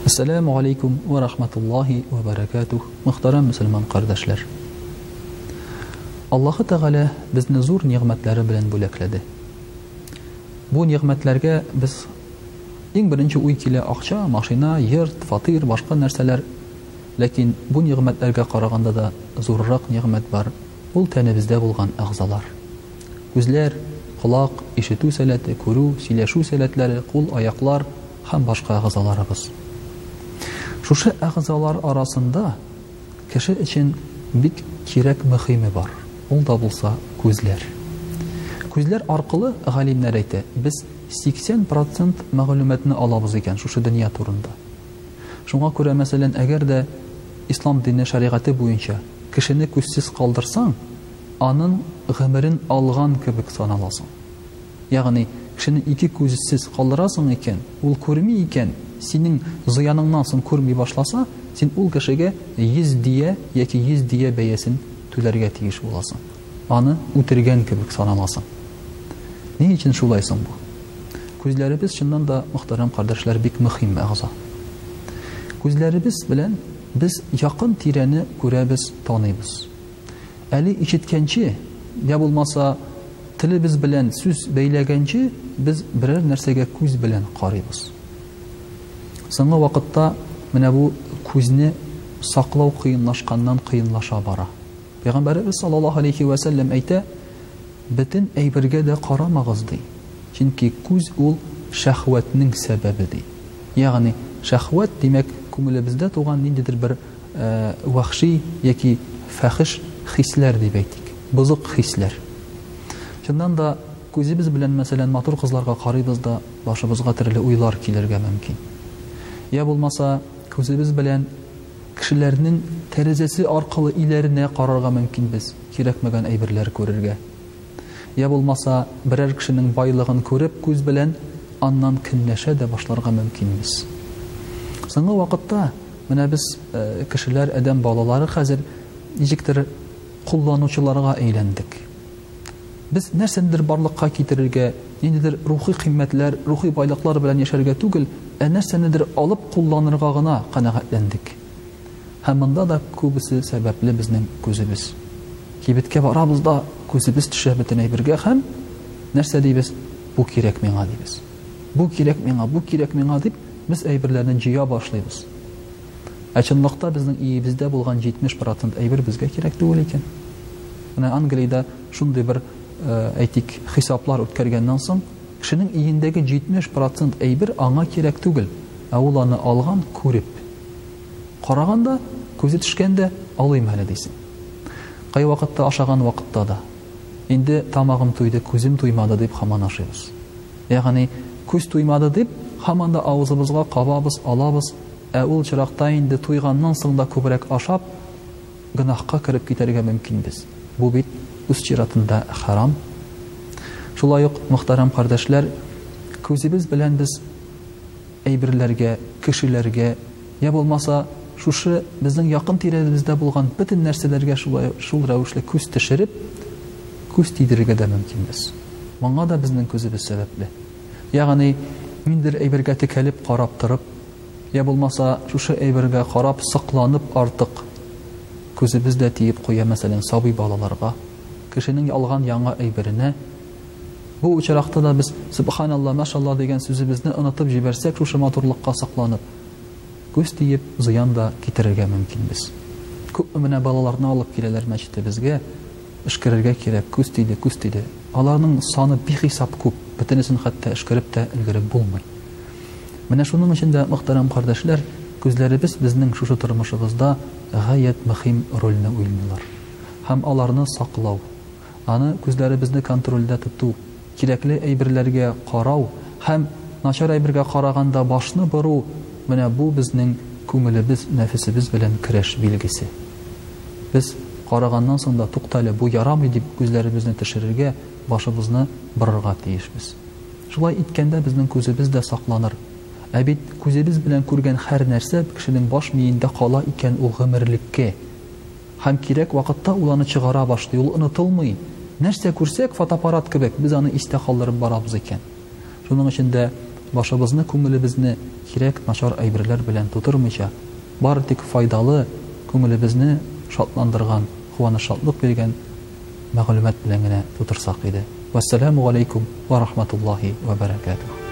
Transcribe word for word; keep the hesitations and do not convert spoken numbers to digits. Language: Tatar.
Ассаламу алейкум ва рахматуллахи ва баракатух. Мөхтәрәм мөселман кардәшләр. Аллаһы Тәгалә безне зур нигъмәтләре белән бүләкләде. Бу нигъмәтләргә без иң беренче уй килә акча, машина, йорт, фатир, башка нәрсәләр. Ләкин бу нигъмәтләргә караганда да зуррак нигъмәт бар. Ул тәнебездә булган агъзалар. Күзләр, колак, ишетү сәләте, күрү, сөйләшү сәләтләре, кул, аяклар һәм башка агъзаларыбыз. Шушы агъзалар арасында кеше өчен бик кирәк мөхиме бар. Ул да булса күзләр. Күзләр аркылы галимнәр әйтә, без сиксән процент мәгълүматны алабыз икән шушы дөнья турында. Шуңа күрә, мәсәлән, әгәр дә ислам дине шәригате буенча кешене күзсез калдырсаң, аның гомерен алган кебек саналасың. Ягъни кешене ике күзсез калдырасың икән, ул күрми икән, синең зыяныңнан соң күрми башласа, син ул кешегә йөз дия яки йөз дия бәясен түләргә тиеш буласың. Аны үтергән кебек саналасың. Ни өчен шулай соң бу? Күзләребез чыннан да, мөхтәрәм кардәшләр, бик мөһим агъза. Күзләребез белән без якын тирәне күрәбез, таныйбыз. Әле ишеткәнче, я булмаса телебез белән сүз бәйләгәнче, без берәр нәрсәгә күз белән карыйбыз. Соңгы вакытта менә бу күзне саклау кыенлашканнан кыенлаша бара. Пәйгамбәрбез саллаллаһу алейхи ва сәллям әйтә, бөтен әйбергә дә карамагыз ди. Чөнки күз ул шәһвәтнең сәбәбе ди. Ягъни шәһвәт димәк күңелебездә туган ниндидер бер вахши яки фахиш хисләр дип әйтик. Бузык хисләр. Чыннан да күзебез белән, мәсәлән, матур кызларга карыйбыз да, башыбызга төрле уйлар килергә мөмкин. Я булмаса күзебез белән кешеләрнең тәрәзәсе аркылы иләренә карарга мөмкин без, кирәкмәгән әйберләр күрергә. Я булмаса берәр кешенең байлыгын күреп күз белән аннан көнләшә дә башларга мөмкин без. Соңгы вакытта менә без кешеләр, адәм балалары хәзер ничектер кулланучыларга әйләндек. Без нәрсәдер барлыкка китерергә, ниндидер рухи кыйммәтләр, рухи байлыклар белән яшәргә түгел, ә нәрсәнедер алып кулланырга гына канәгатьләндек. Һәм монда да күбесе сәбәпле безнең күзебез. Кибеткә барабыз да күзебез төшә бөтен әйбергә һәм нәрсә дибез? Бу кирәк миңа дибез. Бу кирәк миңа, бу кирәк миңа дип без әйберләрне җыя башлыйбыз. Ә чынлыкта безнең иебездә булган җитмеш процент әйбер безгә кирәк түгел икән. Менә Англиядә шундый бер әйтик хисаплар үткәргәннән соң, кешенең иендәге җитмеш процент әйбер аңа кирәк түгел, ә ул аны алган, күреп. Караганда, күзе төшкәндә алыйм әле дисең. Кай вакытта ашаган вакытта да. Инде тамагым туйды, күзем туймады дип һаман ашыйбыз. Ягъни күз туймады дип һаман да авызыбызга кабабыз, алабыз, ә ул чиракта инде туйганнан соң да күбрәк ашап, гынахка кирип китәргә мөмкин без. Бу бит үз чиратында харам. Шулай ук, мөхтәрәм кардәшләр, күзебез белән без әйберләргә, кешеләргә, я булмаса шушы безнең якын тирәбездә булган бөтен нәрсәләргә шул рәвешле күз төшереп, күз тидерергә дә мөмкин без. Моңа да безнең күзебез сәбәпле. Ягъни ниндидер әйбергә текәлеп карап торып, я булмаса шушы әйбергә карап сакланып артык күзебез дә тиеп куя, мәсәлән, сабый балаларга, кешенең алган яңа әйберенә. Бу очракта да без субханалла, машалла дигән сүзебезне онытып җибәрсәк, шушы матурлыкка сакланып, күз тиеп зыян да китерергә мөмкин без. Күп менә балаларны алып киләләр мәчетебезгә, эшкәрергә кирәк, күз тиде, күз тиде. Аларның саны бихисап күп, бөтенесен хәтта эшкәреп тә өлгереп булмый. Менә шуның өчен дә, мөхтәрәм кардәшләр, күзләребез безнең шушы тормышыбызда гаять мөһим рольне уйныйлар. Һәм аларны саклау, аны күзләребезне контрольдә тоту, кирәкле әйберләргә карау һәм начар әйбергә караганда башны бору, менә бу безнең күңелебез, нәфесебез белән көрәш билгесе. Без караганнан соң да туктале, бу ярамый дип күзләребезне төшерергә, башыбызны борырга тиешбез. Шулай иткәндә безнең күзебез дә сакланыр. Ә бит күзебез белән күргән һәр нәрсә кешенең баш миендә кала икән ул гомерлеккә. Һәм кирәк вакытта ул аны чыгара башлый, ул онытылмый. Нәрсә күрсәк, фотоаппарат кебек, без аны истә калдырып барабыз икән. Шуның өчен дә башыбызны, күңелебезне кирәк начар әйберләр белән тутырмыйча, бары тик файдалы, күңелебезне шатландырган, куаныч, шатлык биргән мәгълүмат белән генә тутырсак иде. Вассаламу алейкум ва рахматуллахи ва баракатух.